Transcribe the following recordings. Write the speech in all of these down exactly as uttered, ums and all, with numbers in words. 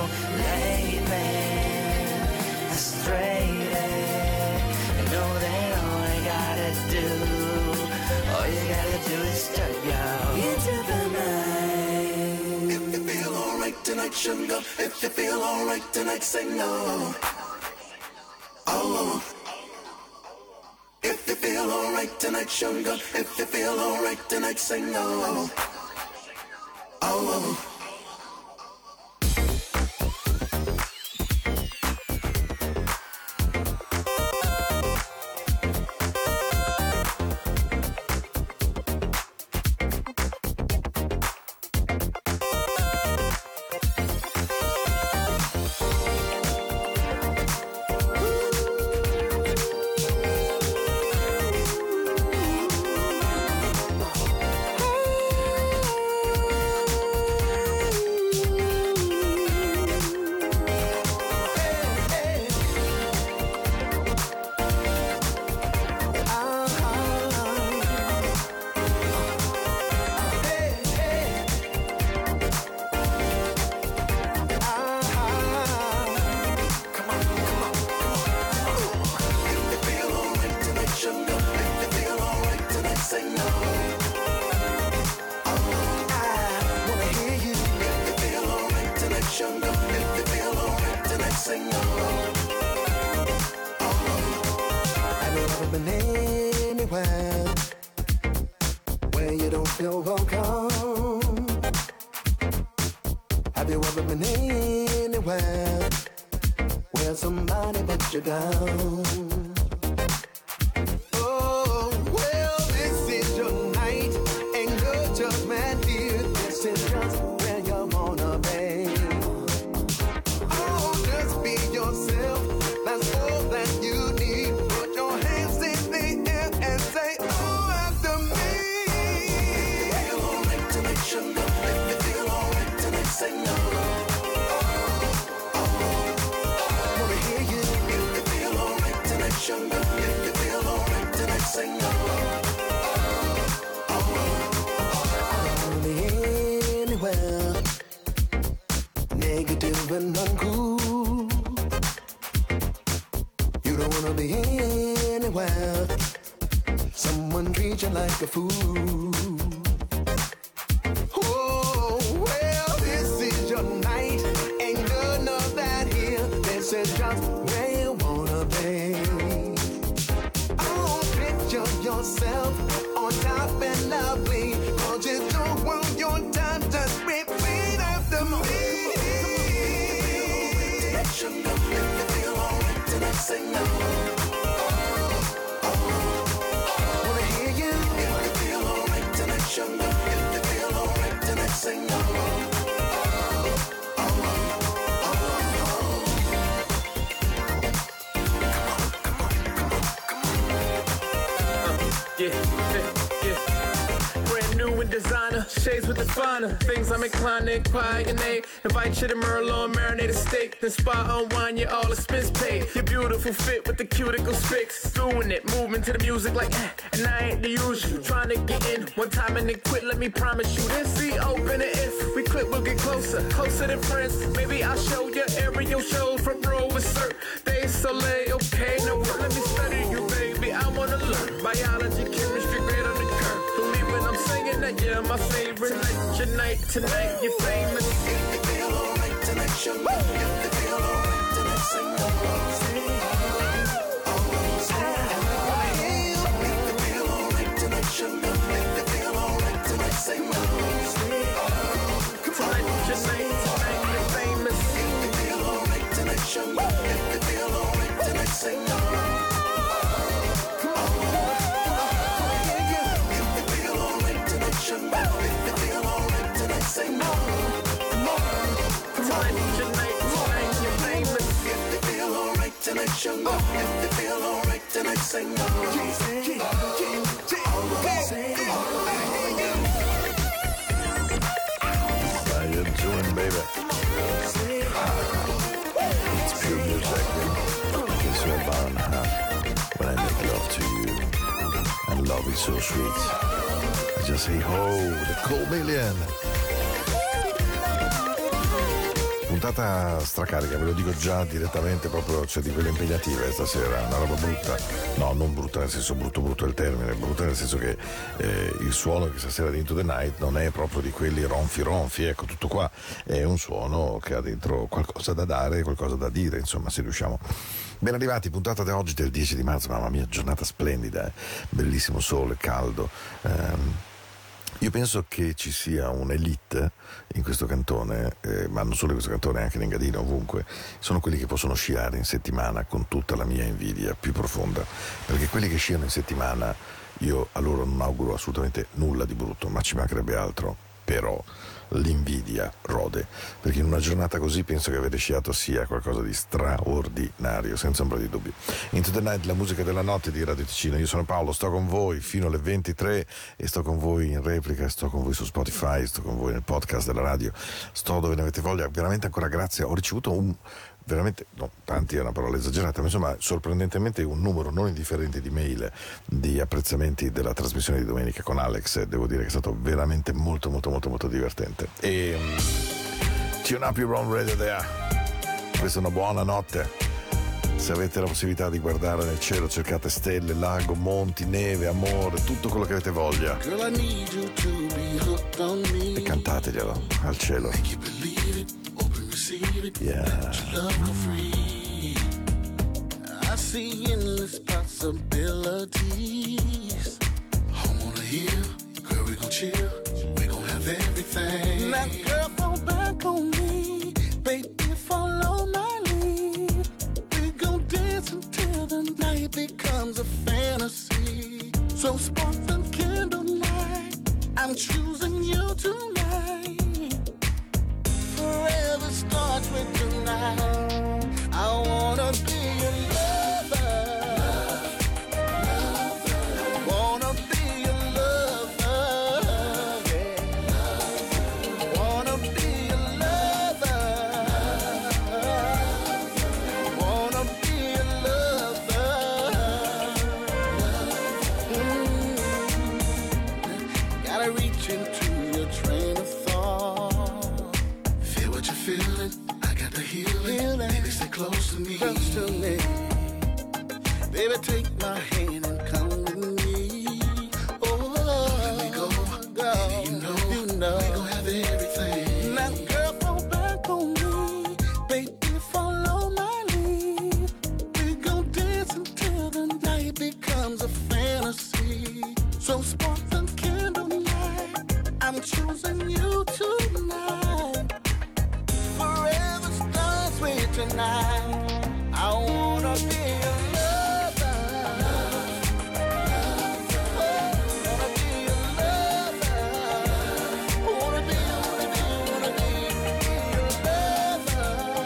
layman, frustrated. You know that all I gotta do, all you gotta do is turn your into the night. If you feel alright tonight, sugar. If you feel alright tonight, say no. Oh. If you feel alright tonight, sugar. If you feel alright tonight, say no. Oh. Invite you to Merlot, marinated steak, then spot on wine, you all expense paid. Your beautiful fit with the cuticle fix, doing it, moving to the music like eh, and I ain't the usual. Trying to get in one time and then quit, let me promise you. Then see, open it, if we quit, we'll get closer, closer than friends. Maybe I'll show you aerial shows from row with cert. They soleil, okay, no, let me study you, baby. I wanna learn biology, chemistry, great on the curve. Believe when I'm saying that you're my favorite. Tonight, your night, tonight, you're famous. Tonight, sugar. If you feel alright tonight, say no. Oh, if you feel alright tonight, sugar. If you feel alright tonight, say no. Tonight, tonight, tonight, you're famous. If you feel alright tonight, sugar. If you feel alright tonight, say no. If you feel alright tonight, sugar. If you feel alright tonight, say no. Tonight, tonight, tonight, you're famous. If you feel alright tonight, sugar. If you feel alright tonight, say no. How you doing, baby? It's pure music. It's your bar and a half. When I make love to you, and love is so sweet, I just say ho, the cold million. puntata stracarica, ve lo dico già direttamente, proprio c'è di quelle impegnative stasera, una roba brutta, no non brutta nel senso brutto brutto è il termine, brutta nel senso che eh, il suono che stasera di Into the Night non è proprio di quelli ronfi ronfi, ecco tutto qua, è un suono che ha dentro qualcosa da dare, qualcosa da dire, insomma se riusciamo. Ben arrivati, puntata di oggi del dieci di marzo, mamma mia, giornata splendida, eh? Bellissimo sole, caldo. Um, io penso che ci sia un'elite in questo cantone, eh, ma non solo in questo cantone, anche in Engadina, ovunque, sono quelli che possono sciare in settimana con tutta la mia invidia più profonda, perché quelli che sciano in settimana, io a loro non auguro assolutamente nulla di brutto, ma ci mancherebbe altro, però l'invidia rode, perché in una giornata così penso che avere sciato sia qualcosa di straordinario, senza ombra di dubbio. Into the Night, la musica della notte di Radio Ticino. Io sono Paolo, sto con voi fino alle ventitré e sto con voi in replica, sto con voi su Spotify, sto con voi nel podcast della radio, sto dove ne avete voglia. Veramente ancora grazie, ho ricevuto un veramente, no, tanti è una parola esagerata, ma insomma sorprendentemente un numero non indifferente di mail di apprezzamenti della trasmissione di domenica con Alex. Devo dire che è stato veramente molto molto molto molto divertente. E tune up your own radio there. Questa è una buona notte. Se avete la possibilità di guardare nel cielo, cercate stelle, lago, monti, neve, amore, tutto quello che avete voglia, e cantateglielo al cielo. Yeah. I see endless possibilities. Home on a hill, girl, we gon' chill. We gon' have everything. Now, girl, fall back on me. Baby, follow my lead. We gon' dance until the night becomes a fantasy. So spark the candlelight. I'm choosing you tonight. Forever starts with tonight. I wanna be your lover. I wanna be your lover. Yeah. I wanna be your lover. I wanna be your lover. Mm. Gotta reach into your train of thought. Feel what you're feeling. I got the healing. healing. Baby, stay close to me. Close to me. Baby, take my hand and come with me. Oh, let me go. go. Baby, you know, you know. We gon' have everything. Now, girl, fall back on me. Baby, follow my lead. We gon' dance until the night becomes a fantasy. So spark the candlelight. I'm choosing you tonight. Forever starts with tonight. I wanna be your lover. Oh, wanna be your lover. Wanna be, wanna be, wanna be your lover.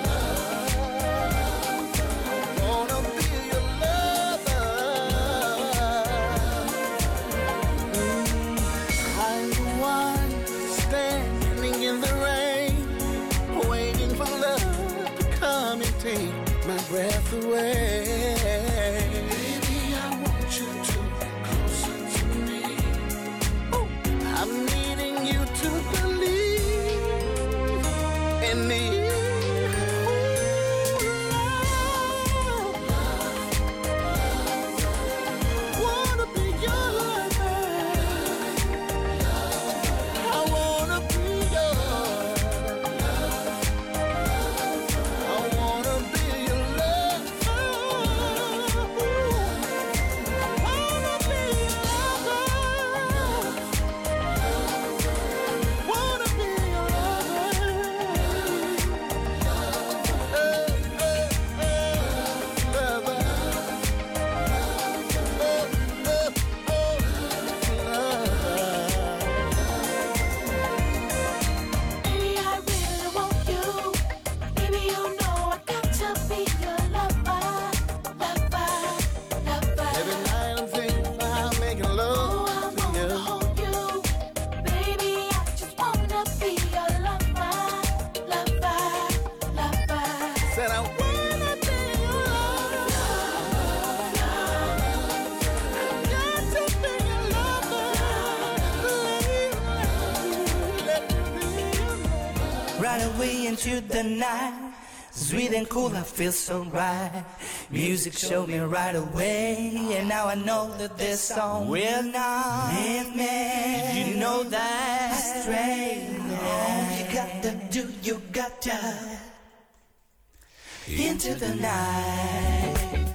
Wanna be your lover. I'm the one standing in the rain, waiting for love to come and take my breath away. Baby, I want you to closer to me. Ooh, I'm needing you to believe in me. Ooh, love. Wanna be your lover. I wanna be your I wanna be your lover. Wanna be your lover. Wanna be your lover. Eh, eh, eh, lover. Oh, oh, oh, lover. Baby, I really want you. Baby, you know I got to be your lover, lover, lover. Every night I'm thinking about making Oh, I love to wanna you. hold you. Baby, I just wanna be your lover, lover, lover. Said I wanna be your lover. Got to be your lover. Let me be your lover. Right away. way into the night. Sweet and cool, I feel so right. Music showed me right away, and now I know that this song will not leave me. You know that astray. All you got to do, you got to into the night.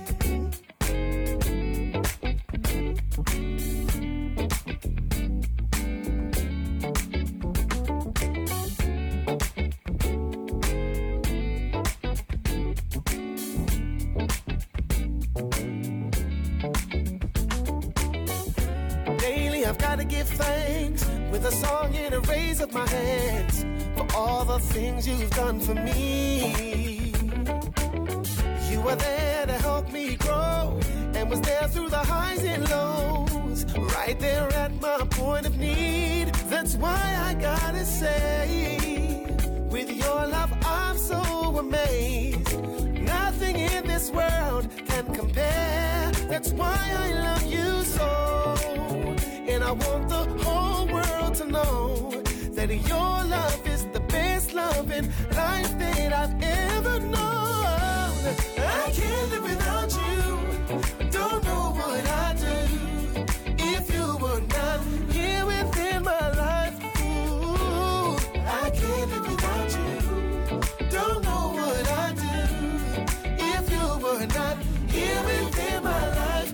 I've got to give thanks with a song and a raise of my hands for all the things you've done for me. You were there to help me grow and was there through the highs and lows, right there at my point of need. That's why I gotta say, with your love I'm so amazed. Nothing in this world can compare. That's why I love you so. And I want the whole world to know that your love is the best love in life that I've ever known. I can't live without you. Don't know what I'd do if you were not here within my life. Ooh, I can't live without you. Don't know what I'd do if you were not here within my life.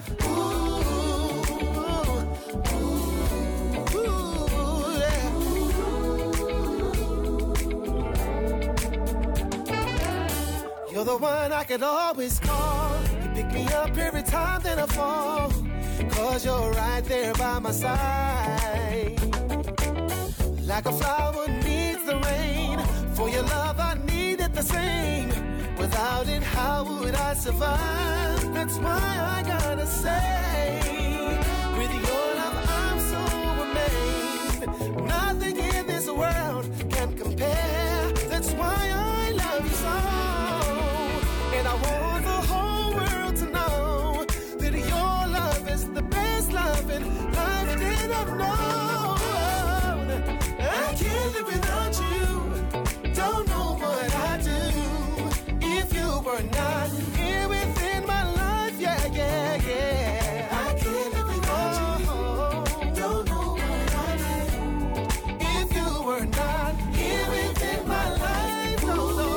You're the one I could always call. You pick me up every time that I fall, 'cause you're right there by my side. Like a flower needs the rain, for your love I needed the same. Without it, how would I survive? That's why I gotta say, with your love I'm so amazed. Nothing in this world can compare. That's why I love you so. And I want the whole world to know that your love is the best love in life that I've known. I can't live without you. Don't know what I'd do if you were not here within my life. Yeah, yeah, yeah. I can't live without you. Don't know what I'd do if you were not here within my life. No, no.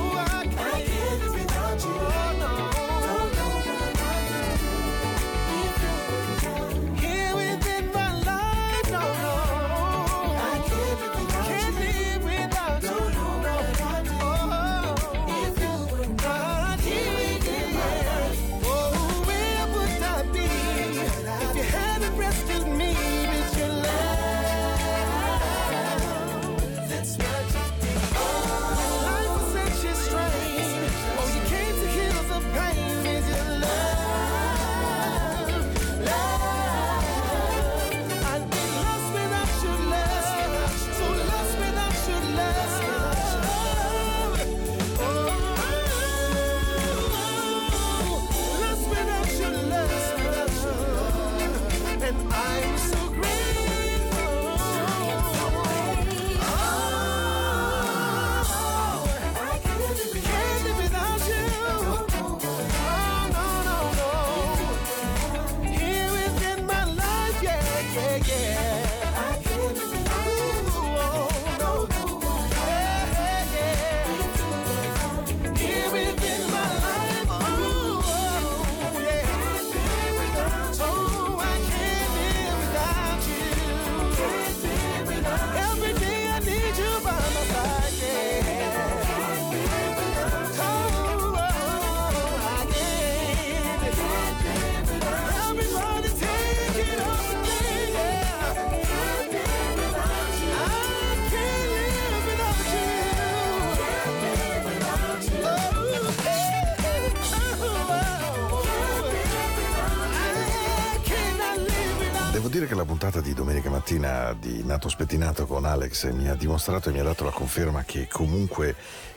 dire che la puntata di domenica mattina di Nato Spettinato con Alex mi ha dimostrato e mi ha dato la conferma che comunque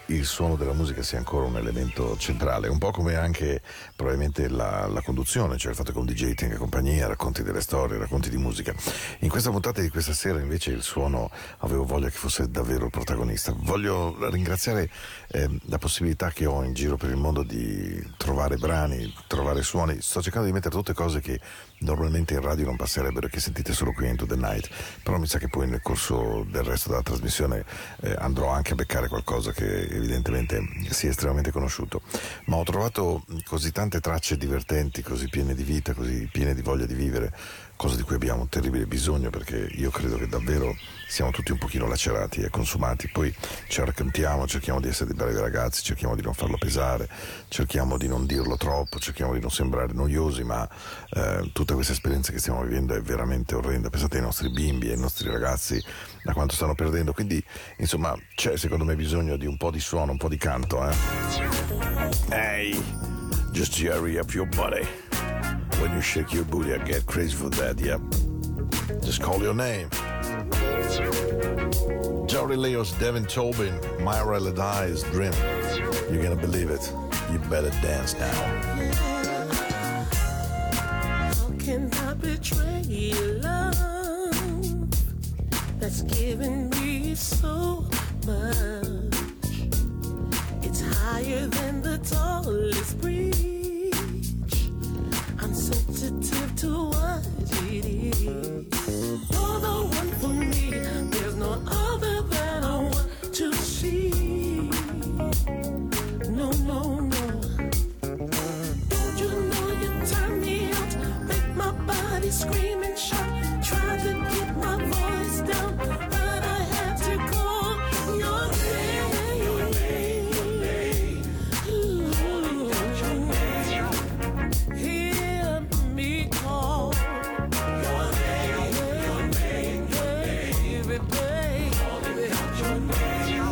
il suono della musica sia ancora un elemento centrale, un po' come anche probabilmente la, la conduzione, cioè il fatto che un D J tenga compagnia, racconti delle storie, racconti di musica. In questa puntata di questa sera invece il suono avevo voglia che fosse davvero il protagonista. Voglio ringraziare eh, la possibilità che ho in giro per il mondo di trovare brani, trovare suoni. Sto cercando di mettere tutte cose che normalmente in radio non passerebbero, che sentite solo qui in Into the Night, però mi sa che poi nel corso del resto della trasmissione eh, andrò anche a beccare qualcosa che evidentemente sia estremamente conosciuto. Ma ho trovato così tante tracce divertenti, così piene di vita, così piene di voglia di vivere, cosa di cui abbiamo un terribile bisogno, perché io credo che davvero siamo tutti un pochino lacerati e consumati. Poi ci raccontiamo, cerchiamo di essere dei bravi ragazzi, cerchiamo di non farlo pesare, cerchiamo di non dirlo troppo, cerchiamo di non sembrare noiosi, ma eh, tutta questa esperienza che stiamo vivendo è veramente orrenda. Pensate ai nostri bimbi, ai nostri ragazzi, a quanto stanno perdendo. Quindi insomma c'è secondo me bisogno di un po' di suono, un po' di canto, eh? Hey, just hurry up your body. When you shake your booty, I get crazy for that, yep. Just call your name. Jory Leos, Devin Tobin, Myra Ledai's Dream. You're gonna believe it. You better dance now. How can I betray love that's given me so much? It's higher than the tallest bridge. I'm sensitive to what it is. You're the one for me. There's no other that I want to see. No, no, no. Don't you know you turn me out, make my body scream and shout. Try to keep my voice down, but I had to call your name. Your name, your name. Ooh. Hear me call your name, your name, your name. Baby, baby, your name.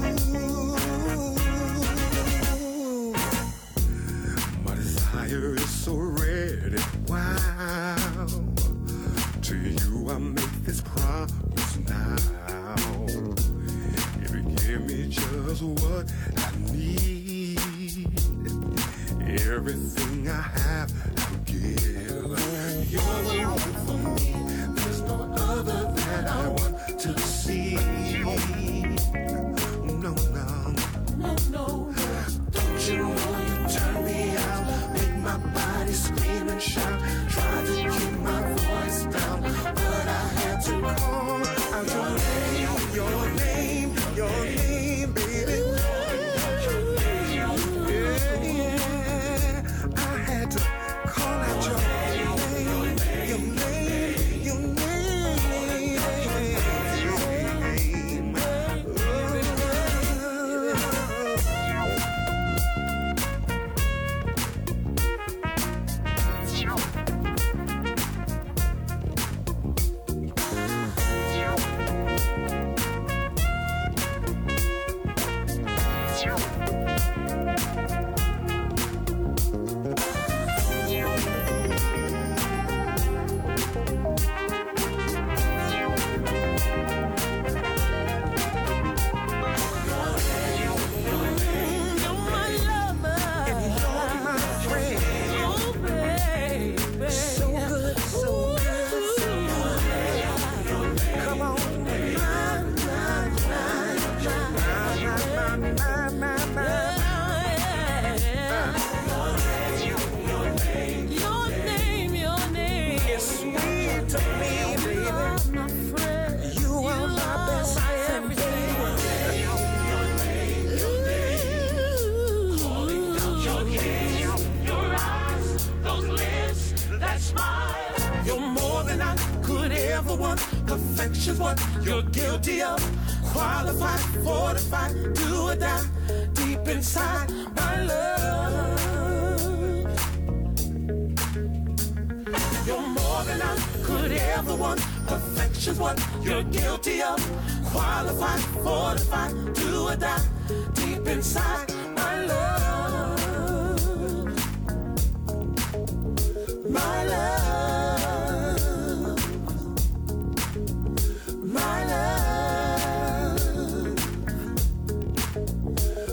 My desire is so red and wild. To you I make this promise now. If you give me just what I need, everything I have I'll give. You're the one for me. There's no other that I want to see. No, no. No, no. Don't you know you turn me out, make my body scream and shout. Try to keep my voice down, but I had to call out your name, your name, your name, baby. Yeah, yeah. I had to call out your name, your name, your name. Perfection's what you're guilty of. Qualified, fortified, do or die. Deep inside, my love. You're more than I could ever want. Perfection's what you're guilty of. Qualified, fortified, do or die. Deep inside, my love. My love. My love,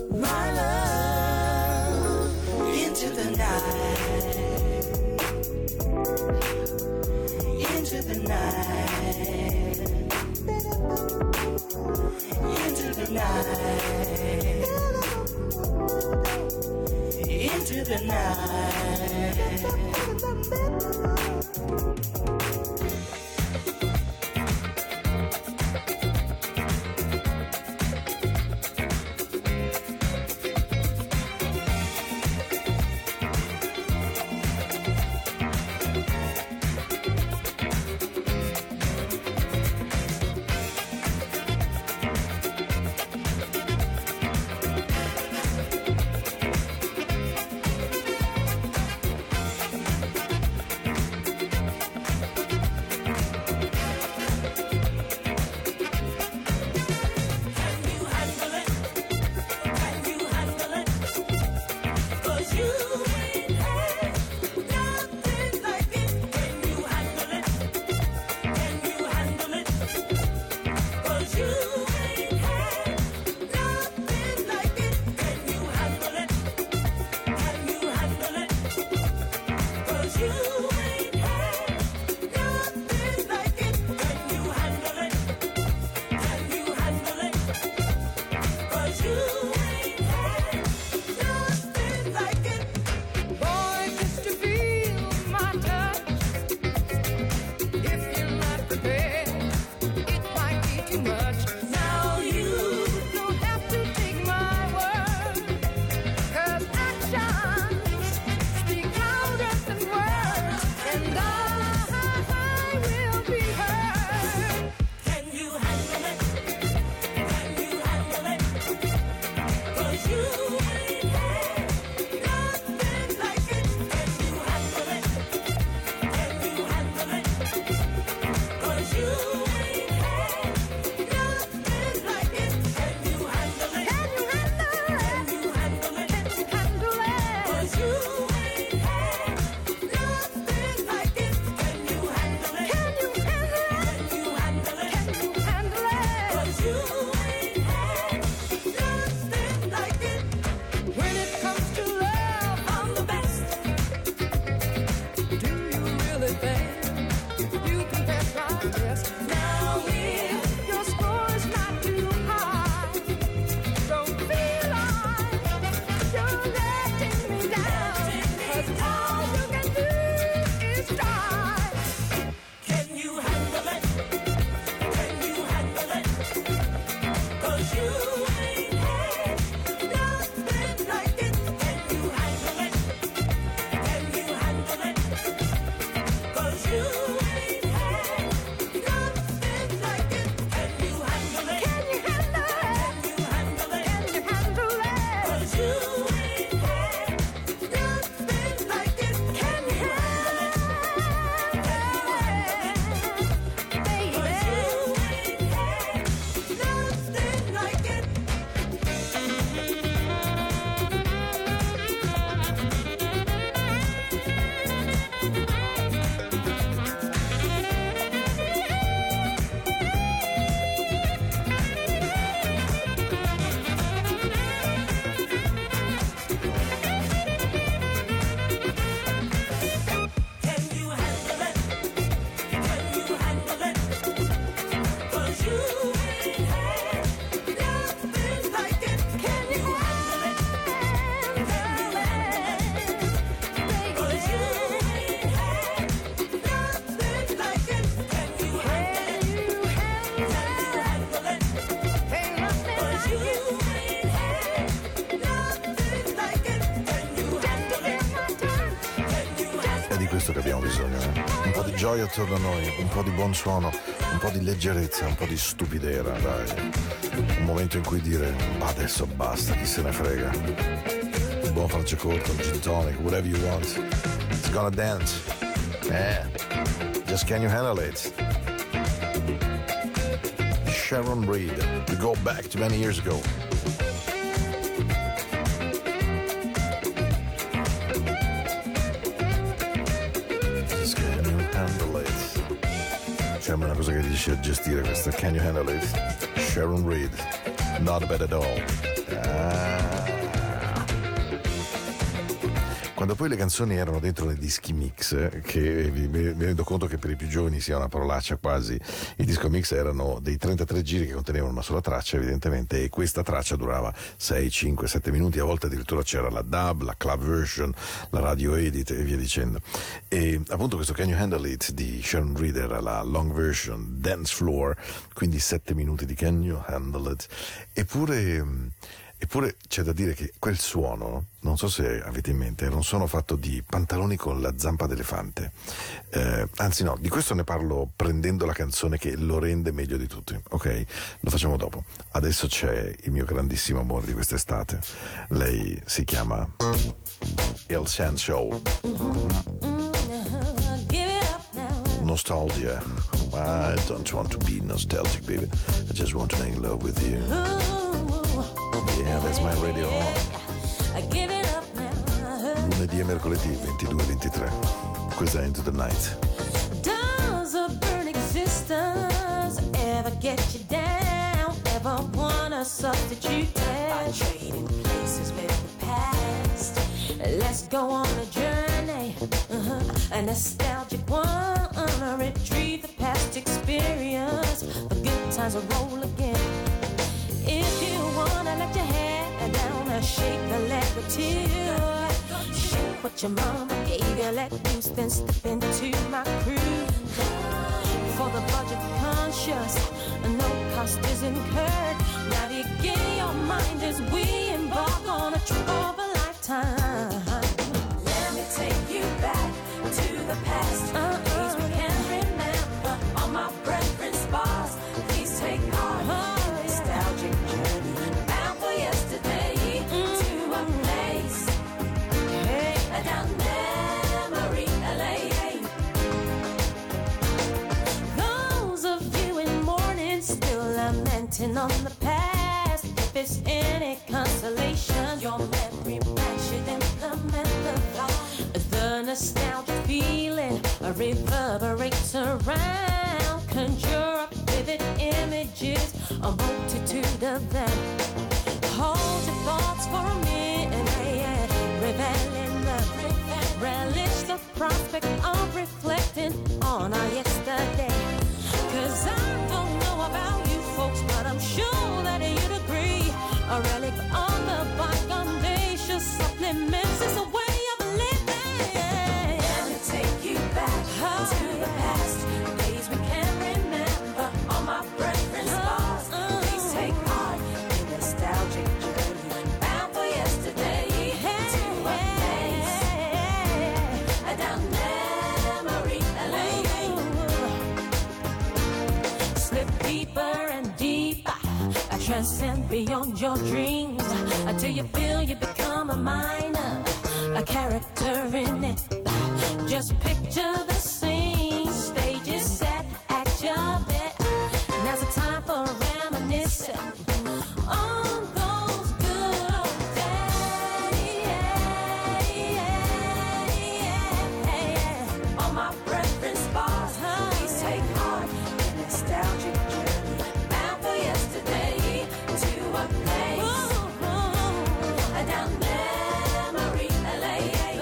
tonight. Gioia attorno a noi, un po' di buon suono, un po' di leggerezza, un po' di stupidera, dai. Un momento in cui dire, ma adesso basta, chi se ne frega. Un buon Franciacorta, un gin tonic, whatever you want. It's gonna dance. Eh, just can you handle it? Sharon Reed, we go back to many years ago. Sembra una cosa che riesci a gestire questa. Can you handle it? Sharon Reed, not bad at all. Ah. Quando poi le canzoni erano dentro nei dischi mix, che mi, mi rendo conto che per i più giovani sia una parolaccia quasi, i disco mix erano dei trentatré giri che contenevano una sola traccia evidentemente, e questa traccia durava sei, cinque, sette minuti, a volte addirittura c'era la dub, la club version, la radio edit e via dicendo. E appunto questo Can You Handle It di Sharon Reeder, la long version, dance floor, quindi sette minuti di Can You Handle It. Eppure Eppure c'è da dire che quel suono, non so se avete in mente, era un suono fatto di pantaloni con la zampa d'elefante. Eh, anzi no, di questo ne parlo prendendo la canzone che lo rende meglio di tutti. Ok? Lo facciamo dopo. Adesso c'è il mio grandissimo amore di quest'estate. Lei si chiama El Sand Show. Nostalgia. I don't want to be nostalgic, baby. I just want to make love with you. Yeah, that's my radio on. Lunedì e mercoledì ventidue e ventitré. Questa è Into the Night. Does a burn existence ever get you down? Ever wanna substitute by trading places with the past? Let's go on a journey, uh-huh. A nostalgic one, retrieve the past experience. The good times will roll again. If you wanna let your hair down and shake the leg or two, shake what your mama gave you, let loose, then step into my crew. For the budget conscious, no cost is incurred. Navigate your mind as we embark on a trip of a lifetime. Let me take you back to the past, uh-uh. Days we can't remember, all my preference bars. Please take heart. Uh-uh. On the past, if it's any consolation, your memory bank should implement the thought. The nostalgic feeling reverberates around, conjure up vivid images, a multitude of them. Hold your thoughts for a minute, revel in the relish the prospect of reflecting on our yesterday. Cause I don't know about you folks, but I'm sure that you'd agree. A relic on the bygone days just supplements is a way of living. Let me take you back oh, to the past, days we can't remember. All my preference bars, uh, please take part in nostalgic journey, bound for yesterday, hey, to a place hey, down memory lane. Slip deeper and deeper, I transcend beyond your dreams, until you feel you become a minor, a character in it. Just picture the scene, stage is set at your bed. Now's the time for reminiscing on those good old days. On my preference bars, please take heart in nostalgic journey, bound for yesterday to a place down memory lane.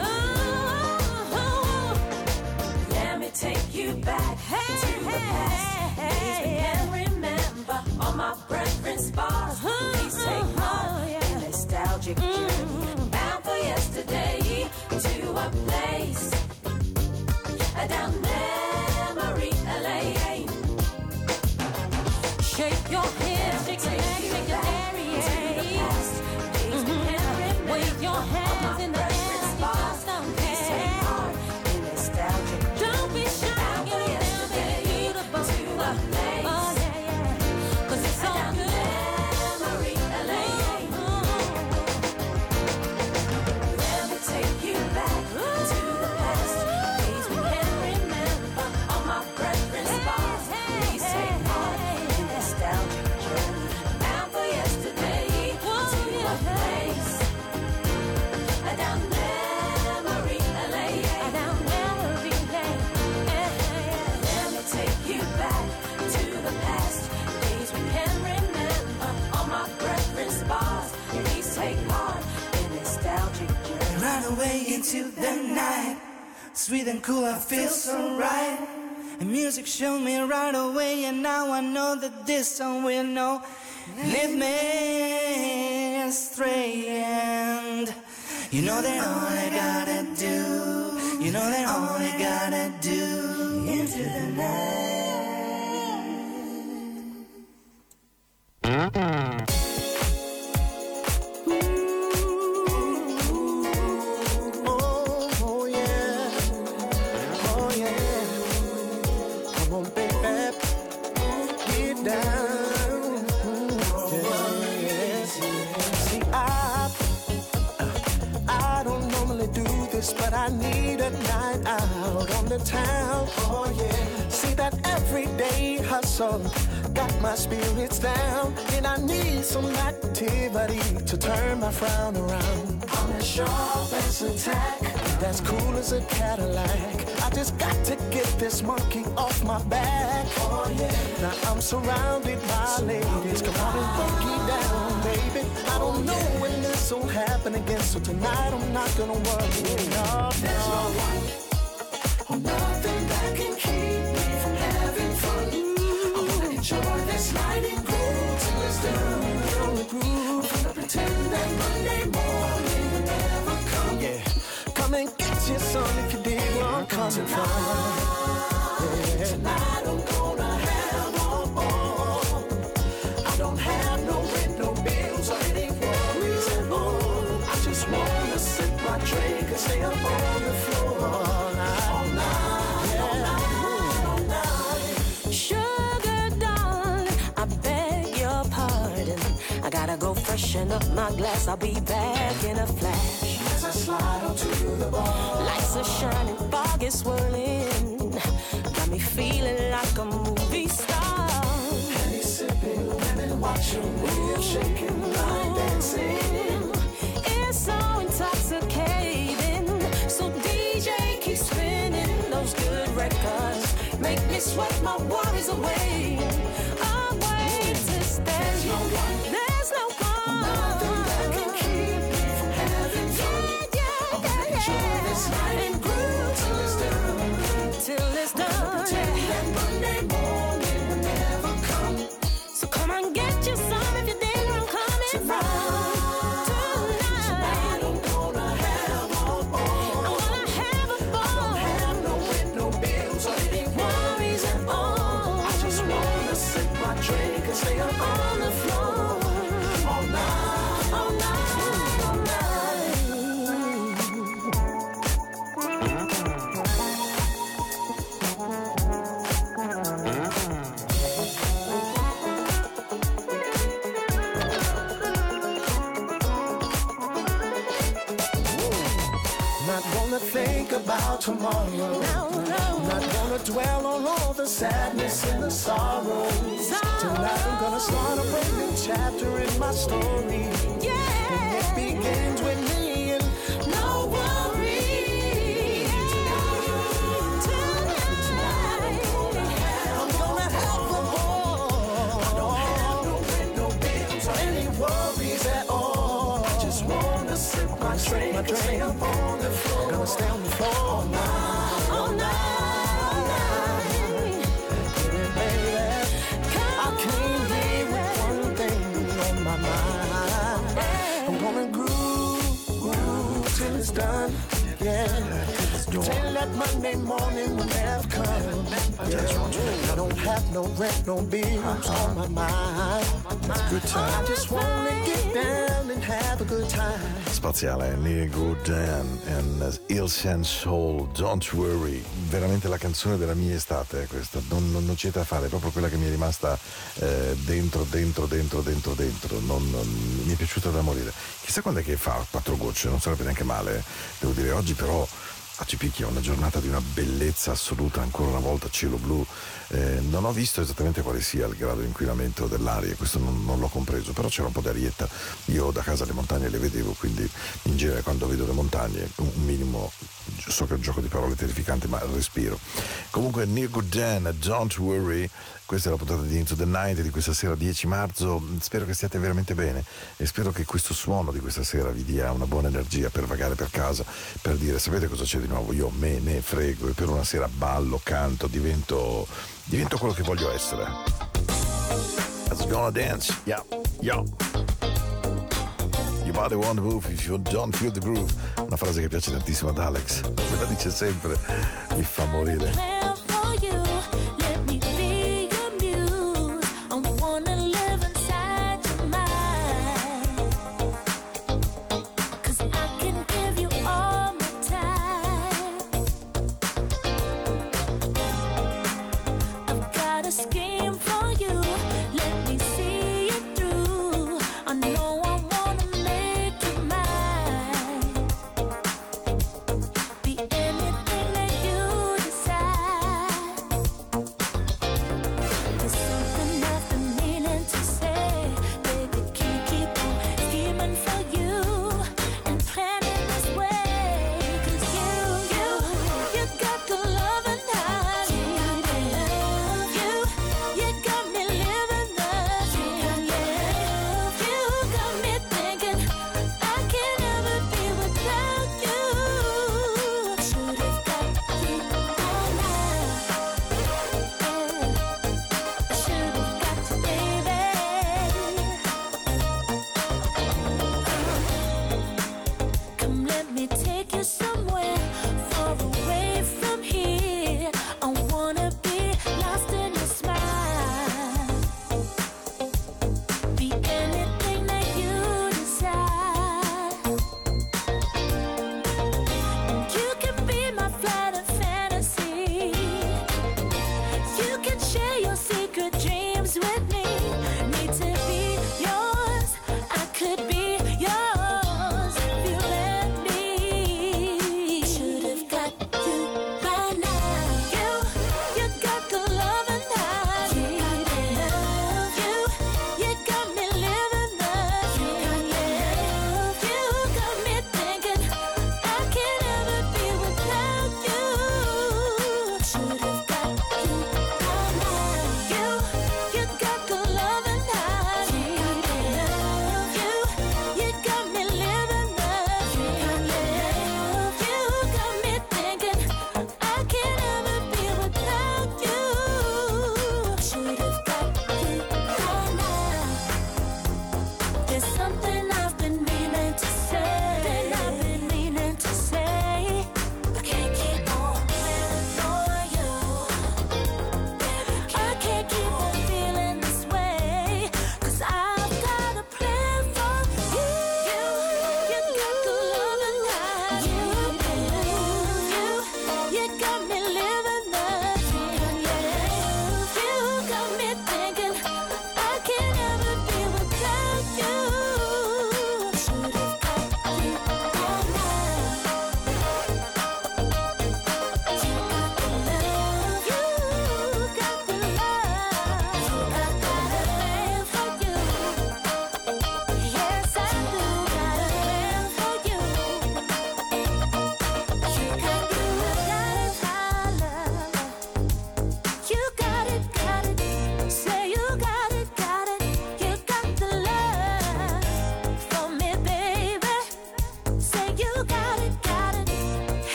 Let me take you back to the past, days we can't remember. All my preference bars, please take heart in nostalgic journey, bound for yesterday to a place down memory lane. Shake your head, shake your neck, shake your area. To the past, days we can't remember. Wave your hands in the air, please take part in nostalgic journey. Don't be shy, get it down, baby, beautiful to a place. Oh yeah, yeah, 'cause it's all good. Memory lane. away into the night. Sweet and cool, I feel so right. And music showed me right away, and now I know that this song will know. Lead me astray, and you know that all I gotta do, you know that all I gotta do into the night. But I need a night out on the town. Oh yeah. See that everyday hustle got my spirits down, and I need some activity to turn my frown around. I'm as sharp as a tack, that's cool as a Cadillac. I just got to get this monkey off my back. Oh yeah. Now I'm surrounded by ladies. Come on and break it down, baby. I don't know when this will happen again, so tonight I'm not gonna worry. No, there's no one or nothing that can keep me from having fun. I wanna enjoy this night and groove till it's done. I'm gonna pretend that Monday morning will never come. Yeah, come and get your son if you dig where I'm coming from. Yeah. Tonight I'm gonna have all, all. I don't have no rent, no bills or any worries at all. I just wanna sip my drink and stay up on the floor all night, all night, yeah. all night, all night. Sugar darling, I beg your pardon. I gotta go freshen up my glass. I'll be back in a flash. As I slide onto the bar, lights are shining, fog is swirling. Got me feeling like a movie star. Henny sipping, women watching, real shaking, line dancing. It's so intoxicating. So D J keep spinning those good records. Make me sweat my worries away. Away to stay. There's no one, there's no one, nothing that can keep me from having fun. Yeah, yeah, I'm gonna yeah, enjoy yeah. this night and groove till it's done. Till it's done. Pretend Yeah. that Monday morning will never come. So come on, get you some if you dig where I'm coming Tonight, from. tonight I'm gonna have all, all. I wanna have a ball. Don't have no rent, no bills or any worries at all. I just wanna sip my drink and stay up on the floor all night, All night, all night. Not gonna think about tomorrow. No, no. Not gonna dwell on all the sadness and the sorrow. Tonight I'm gonna start a brand new chapter in my story. Yeah. And it begins with me and no worries. I'm gonna have a ball. I don't have no rent, no bills or any worries at all. I just wanna sip my drink, my drink. Stay up on the floor. Gonna stay on the floor all night, All night, all night. baby. I came here with one thing on my mind. I'm gonna groove, groove till it's done. Yeah. Pretend that Monday morning will never come. Yeah. I don't have no rent, no bills on my mind. Good time. I just wanna get down and have a good time. Spaziale, Neil Godin and Il Sense Soul, Don't Worry. Veramente la canzone della mia estate è questa, non, non, non c'è da fare, è proprio quella che mi è rimasta eh, dentro, dentro, dentro, dentro, dentro. Non, non, mi è piaciuta da morire. Chissà quando è che fa quattro gocce, non sarebbe neanche male, devo dire. Oggi però a Cipicchia, una giornata di una bellezza assoluta, ancora una volta cielo blu. Eh, non ho visto esattamente quale sia il grado di inquinamento dell'aria, questo non, non l'ho compreso, però c'era un po' di arietta. Io da casa le montagne le vedevo, quindi in genere quando vedo le montagne un minimo so che è un gioco di parole terrificante, ma respiro. Comunque Neil Gooden, Don't Worry, questa è la puntata di Into the Night di questa sera dieci marzo. Spero che stiate veramente bene e spero che questo suono di questa sera vi dia una buona energia per vagare per casa, per dire sapete cosa c'è di nuovo, io me ne frego e per una sera ballo, canto, divento divento quello che voglio essere. Let's gonna dance, yeah, yeah. Your body won't move if you don't feel the groove. Una frase che piace tantissimo ad Alex, me la dice sempre, mi fa morire. Could be yours if you let me.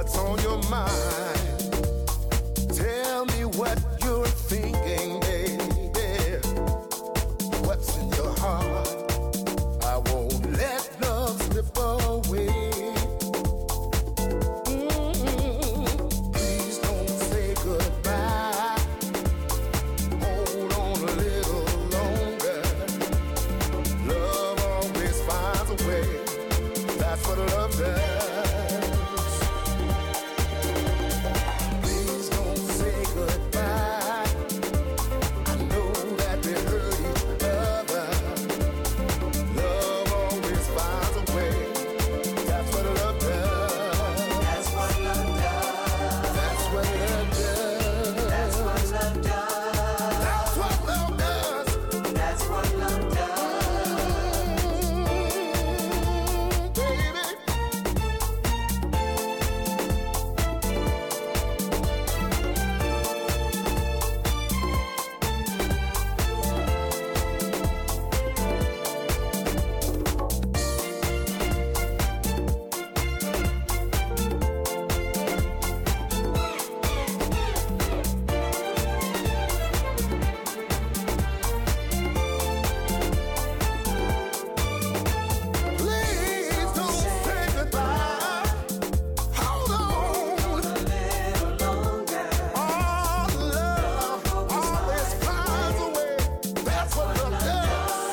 what's on your mind. Tell me what you're thinking, baby. What's in your heart? I won't let love slip away. Mm-hmm. Please don't say goodbye. Hold on a little longer. Love always finds a way. That's what love does. Please don't say goodbye. I know that we hurt each other. Love always finds a way. That's what love does. That's what love does. That's what love does. That's what love does. That's what love does. That's what love does. Baby. Please don't say goodbye. Hold on a little longer. All love always finds a way. That's what love does.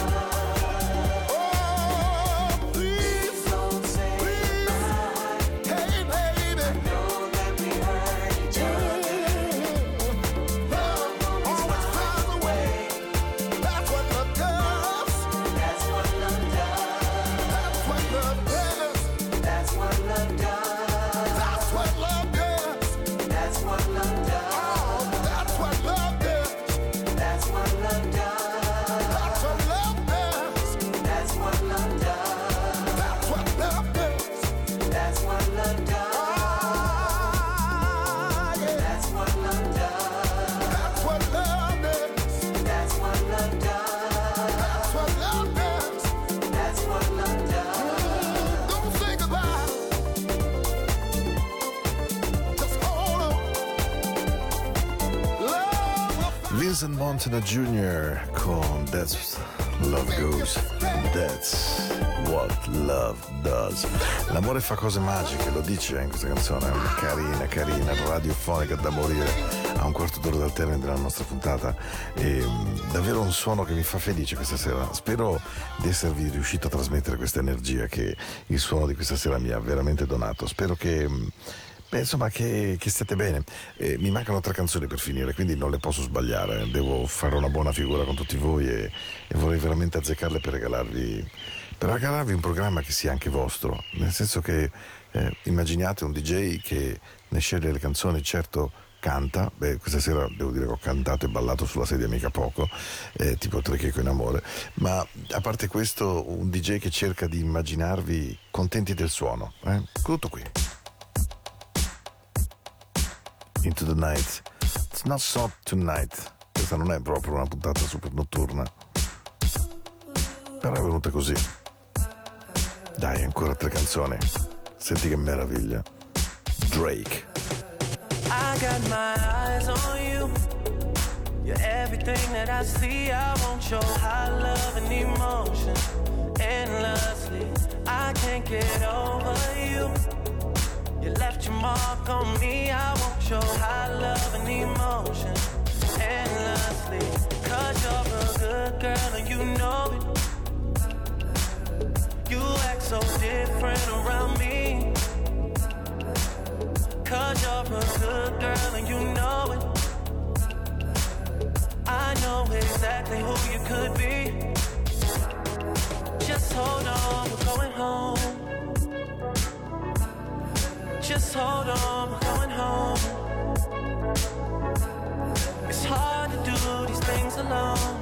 Oh, please don't say goodbye. Hey, baby. Know that we hurt each other. Love always finds a way. That's what love does. That's what love does. That's what love does. That's what love does. That's what love does. That's what love does. Oh, that's what love does. That's what love does. That's what love does. That's what love does. That's what love does. That's what love does. Ah, yeah. That's what love does. That's what love does. That's what love does. That's what love does. That's what love does. Don't think about it. Just hold on. Love will Vincent Montana Junior con That's Love Goes, That's What Love Does. L'amore fa cose magiche, lo dice in questa canzone, carina, carina, radiofonica da morire. A un quarto d'ora dal termine della nostra puntata, e mh, davvero un suono che mi fa felice questa sera. Spero di esservi riuscito a trasmettere questa energia che il suono di questa sera mi ha veramente donato. Spero che mh, beh, insomma che, che state bene. Eh, mi mancano tre canzoni per finire, quindi non le posso sbagliare. Devo fare una buona figura con tutti voi e, e vorrei veramente azzeccarle per regalarvi per regalarvi un programma che sia anche vostro, nel senso che eh, immaginate un D J che ne sceglie le canzoni, certo canta. Beh, questa sera devo dire che ho cantato e ballato sulla sedia mica poco, eh, tipo Tre Checo in amore, ma a parte questo un D J che cerca di immaginarvi contenti del suono, eh? Tutto qui. Into the Night. It's not so tonight. Questa non è proprio una puntata super notturna, però è venuta così. Dai, ancora tre canzoni. Senti che meraviglia. Drake. I got my eyes on you. You're everything that I see. I want your high love and emotion endlessly. I can't get over you. You left your mark on me. I want your high love and emotion endlessly. Cause you're a good girl and you know it. You act so different around me. Cause you're a good girl and you know it. I know exactly who you could be. Just hold on, we're going home. Just hold on, we're going home. It's hard to do these things alone.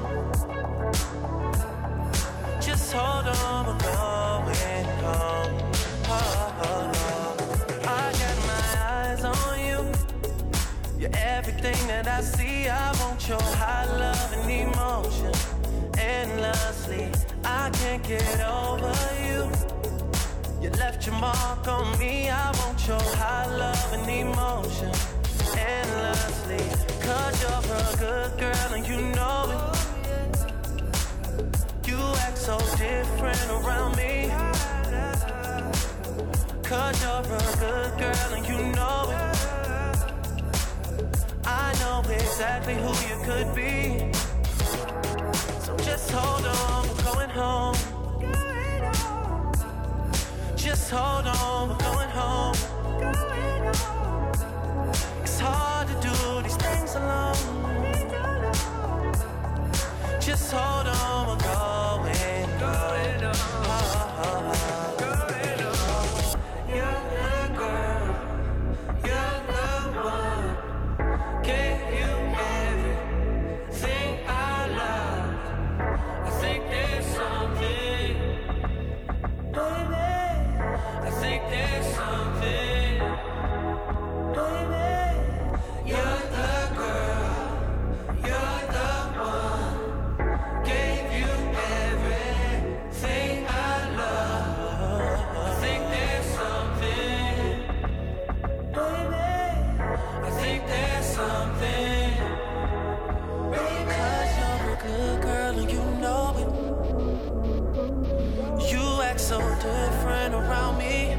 Just hold on, we're going home. Oh, oh, oh. I got my eyes on you. You're everything that I see. I want your high love and emotion endlessly. I can't get over you. You left your mark on me. I want your high love and emotion endlessly. Cause you're a good girl and you know it. You act so different around me. Cause you're a good girl and you know it. I know exactly who you could be. So just hold on, we're going home. Just hold on, we're going home. It's hard to do these things alone. Just hold on, we're going, going home. So different around me.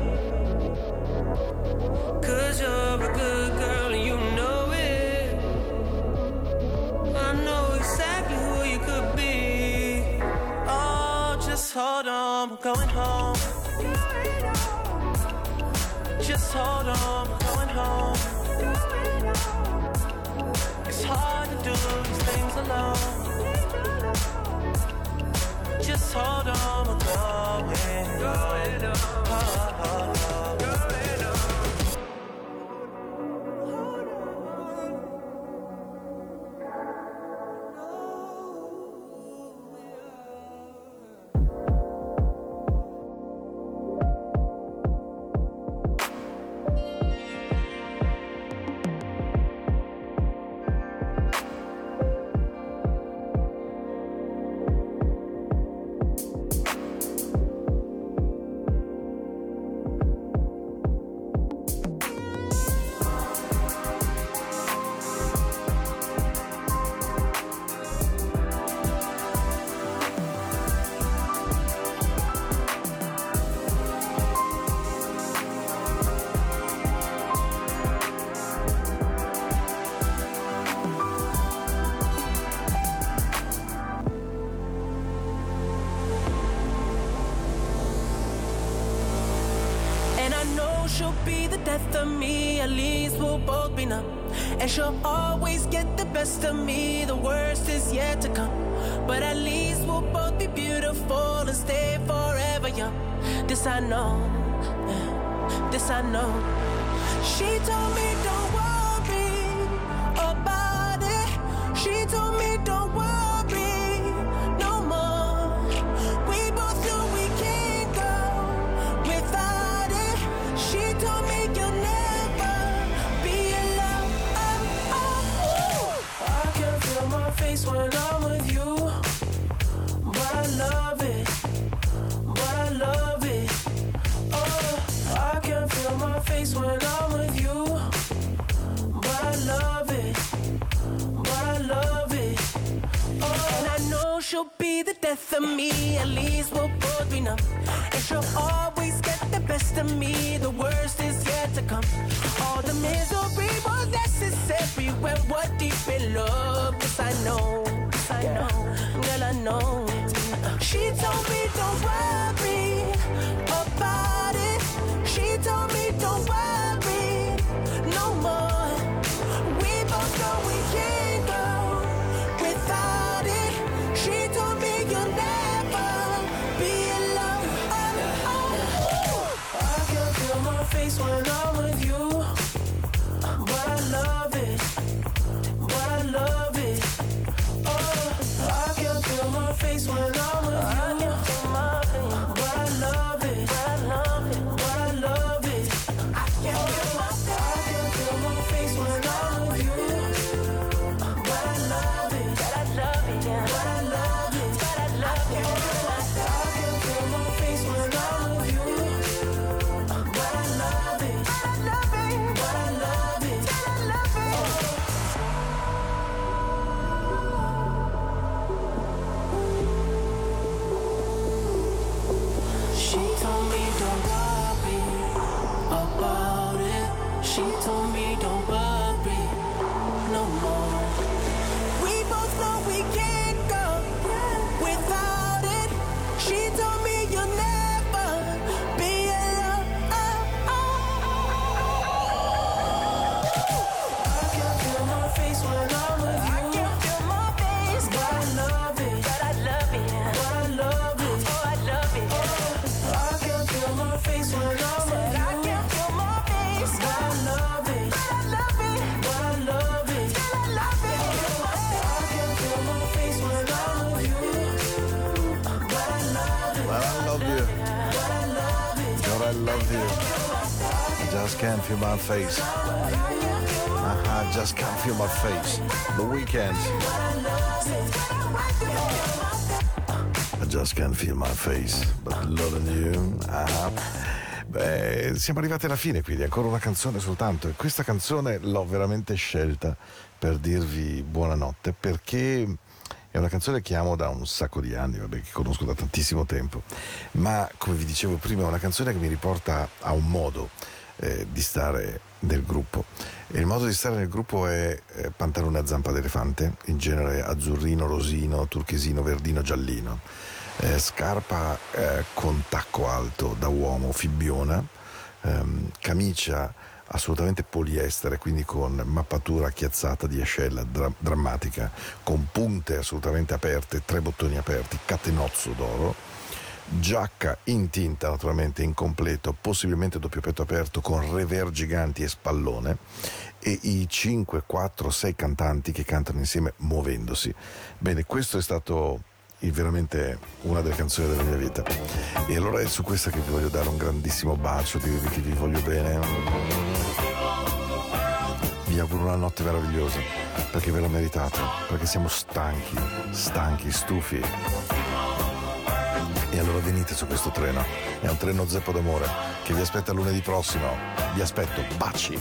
Cause you're a good girl and you know it. I know exactly who you could be. Oh, just hold on, we're going home. Just hold on, we're going home. It's hard to do these things alone. Just hold on, we're going, going on. Oh, oh, oh. Death of me, at least we'll both be numb. And she'll always get the best of me. The worst is yet to come. But at least we'll both be beautiful and stay forever young. This I know, yeah, this I know. She told me don't worry about it. She told me don't worry no more. We both know we can't go without it. She told me when I'm with you, but I love it, but I love it. Oh, I can feel my face when I'm with you, but I love it, but I love it. Oh, and I know she'll be the death of me. At least we'll both be numb. And she'll always get the best of me. The worst is yet to come. All the misery was necessary when we're deep in love. Yes, I know, yes, I know, girl, I know. She told me don't worry about it. She told me don't worry no more. We both know we can't go without it. She told me you'll never be alone. Oh, oh, oh. I can feel my face when I'm with you, but I love it, but I love it. Oh, I can feel my face when I'm with you, but I told me don't worry no more. We both know we can't go without it. She told me you'll never be alone. I can feel my face when I'm with you. I can feel my face, But I love it. but I love it. But I love it. Oh, I love it. I can feel my face when I'm with Said I you. can feel my face, But I love it. but I love it. But I love it. Still I love it. I can feel my face when I'm with you. But I love it. But I love you. But I love it. But I love you. I just can't feel my face. Uh-huh, just can't feel my face. The Weeknd. I just can't feel my face, but loving you. Uh-huh. Beh, siamo arrivati alla fine, quindi ancora una canzone soltanto. E questa canzone l'ho veramente scelta per dirvi buonanotte, perché è una canzone che amo da un sacco di anni, vabbè, che conosco da tantissimo tempo, ma come vi dicevo prima è una canzone che mi riporta a un modo eh, di stare nel gruppo. E il modo di stare nel gruppo è eh, pantalone a zampa d'elefante, in genere azzurrino, rosino, turchesino, verdino, giallino, eh, scarpa eh, con tacco alto da uomo, fibbiona, ehm, camicia assolutamente poliestere, quindi con mappatura chiazzata di ascella dra- drammatica, con punte assolutamente aperte, tre bottoni aperti, catenozzo d'oro, giacca in tinta naturalmente in completo, possibilmente doppio petto aperto con rever giganti e spallone, e i cinque, quattro, sei cantanti che cantano insieme muovendosi. Bene, questo è stato il- veramente una delle canzoni della mia vita, e allora è su questa che vi voglio dare un grandissimo bacio, dirvi che vi voglio bene, vi auguro una notte meravigliosa, perché ve la meritate, perché siamo stanchi, stanchi, stufi. E allora venite su questo treno, è un treno zeppo d'amore che vi aspetta lunedì prossimo. Vi aspetto, baci!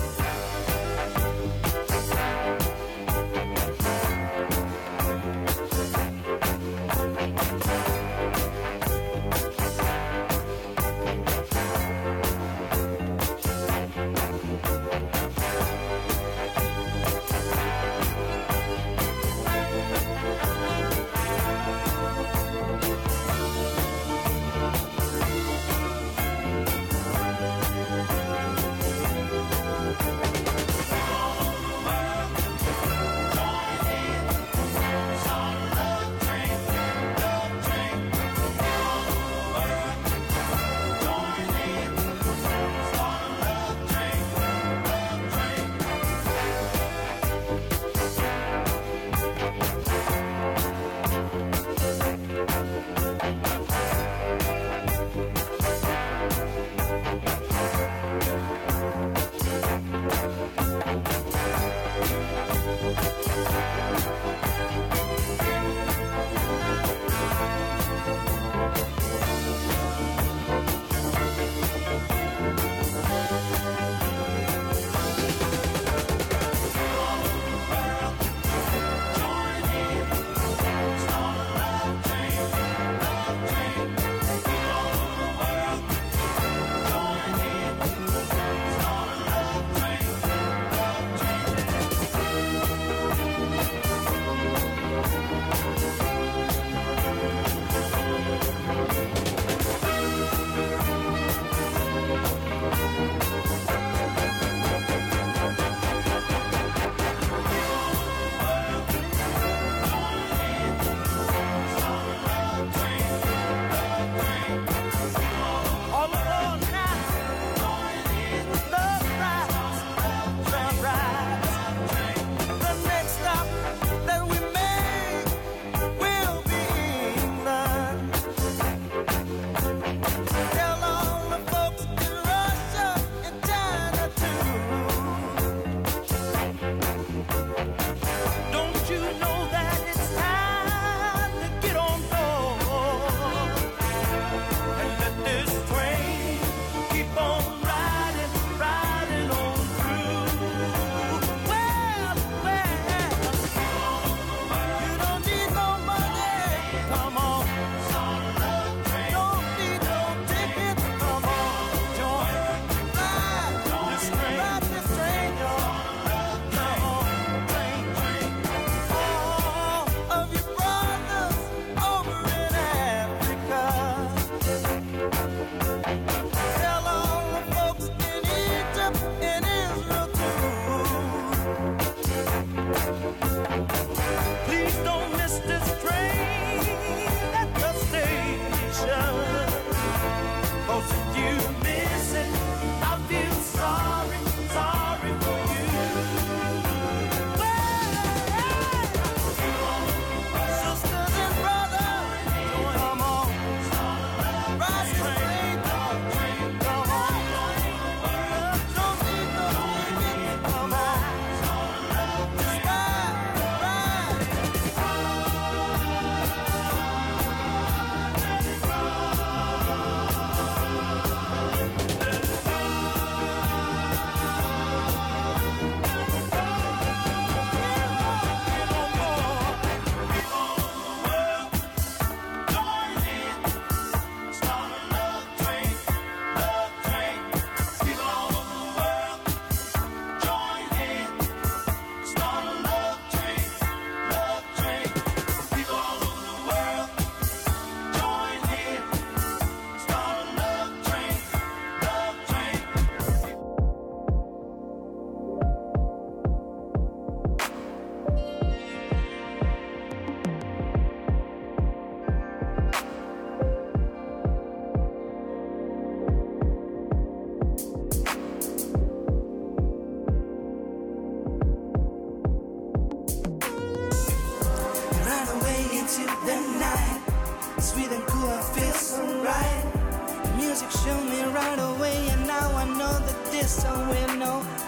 into the night. Sweet and cool, I feel so right. Music showed me right away, and now I know that this song will know.